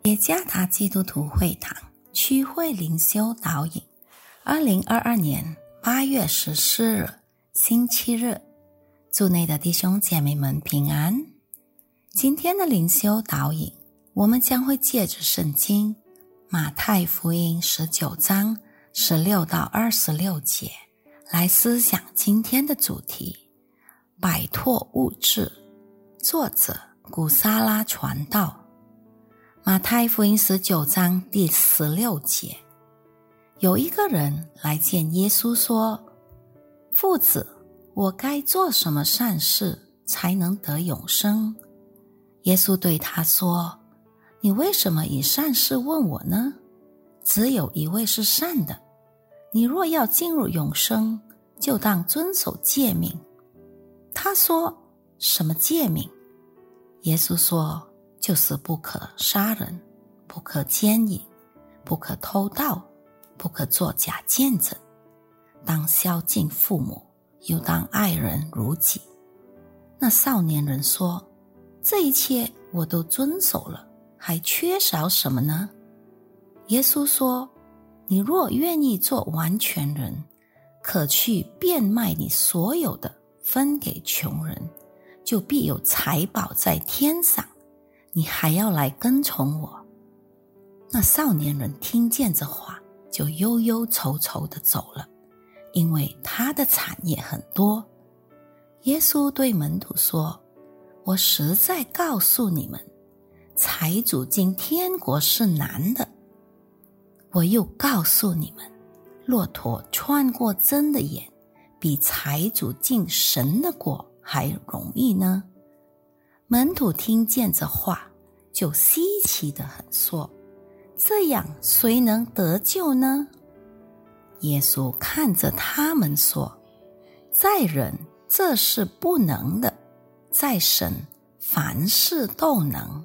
耶加达基督徒会堂区会灵修导引2022年8月14日星期日，祝内的弟兄姐妹们平安。今天的灵修导引，我们将会借着圣经马太福音19章16到26节来思想今天的主题，摆脱物质。作者古撒拉传道。马太福音19章第16节，有一个人来见耶稣说，夫子，我该做什么善事才能得永生？耶稣对他说，你为什么以善事问我呢？只有一位是善的，你若要进入永生，就当遵守诫命。他说，什么诫命？耶稣说，就是不可杀人，不可奸淫，不可偷盗，不可作假见证，当孝敬父母，又当爱人如己。那少年人说，这一切我都遵守了，还缺少什么呢？耶稣说，你若愿意做完全人，可去变卖你所有的，分给穷人，就必有财宝在天上，你还要来跟从我。那少年人听见这话，就忧忧愁愁地走了，因为他的产业很多。耶稣对门徒说，我实在告诉你们，财主进天国是难的。我又告诉你们，骆驼穿过针的眼，比财主进神的国还容易呢。门徒听见这话，就稀奇地很说，这样谁能得救呢？耶稣看着他们说，在人这是不能的，在神凡事都能。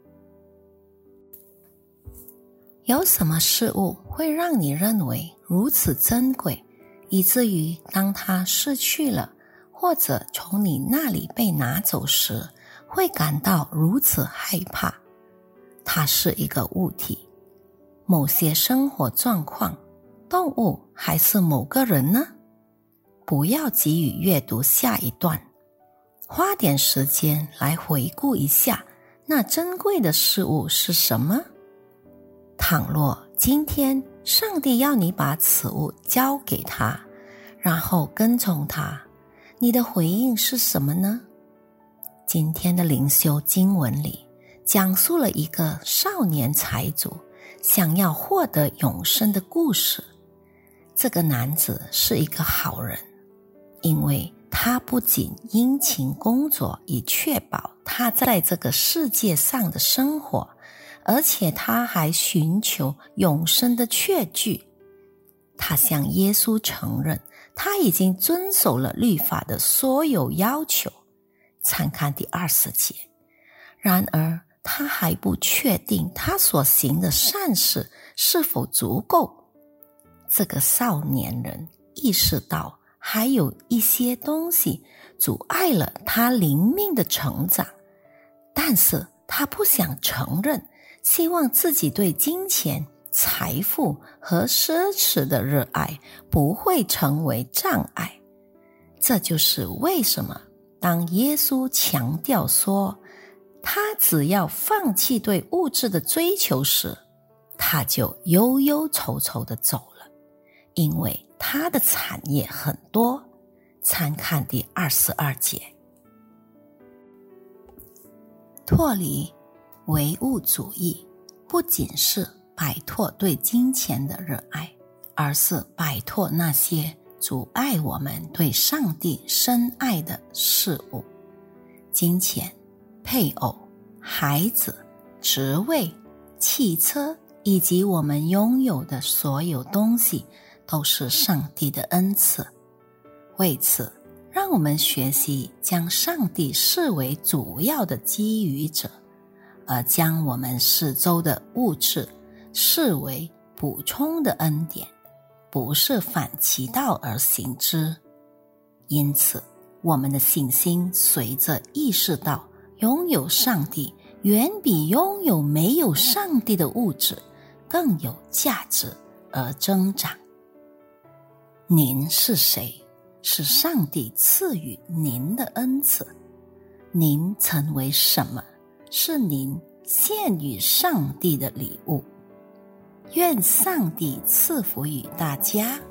有什么事物会让你认为如此珍贵，以至于当它失去了，或者从你那里被拿走时，会感到如此害怕？它是一个物体，某些生活状况，动物，还是某个人呢？不要急于阅读下一段，花点时间来回顾一下那珍贵的事物是什么。倘若今天上帝要你把此物交给他，然后跟从他，你的回应是什么呢？今天的灵修经文里讲述了一个少年财主想要获得永生的故事。这个男子是一个好人，因为他不仅殷勤工作以确保他在这个世界上的生活，而且他还寻求永生的确据。他向耶稣承认他已经遵守了律法的所有要求，参看第20节。然而他还不确定他所行的善事是否足够。这个少年人意识到还有一些东西阻碍了他灵命的成长，但是他不想承认，希望自己对金钱、财富和奢侈的热爱不会成为障碍。这就是为什么当耶稣强调说他只要放弃对物质的追求时，他就忧忧愁愁地走了，因为他的产业很多。参看第22节。脱离唯物主义不仅是摆脱对金钱的热爱，而是摆脱那些阻碍我们对上帝深爱的事物。金钱、配偶、孩子、职位、汽车以及我们拥有的所有东西都是上帝的恩赐。为此，让我们学习将上帝视为主要的给予者，而将我们四周的物质视为补充的恩典，不是反其道而行之。因此，我们的信心随着意识到拥有上帝远比拥有没有上帝的物质更有价值而增长。您是谁？是上帝赐予您的恩赐。您成为什么？是您献与上帝的礼物。愿上帝赐福于大家。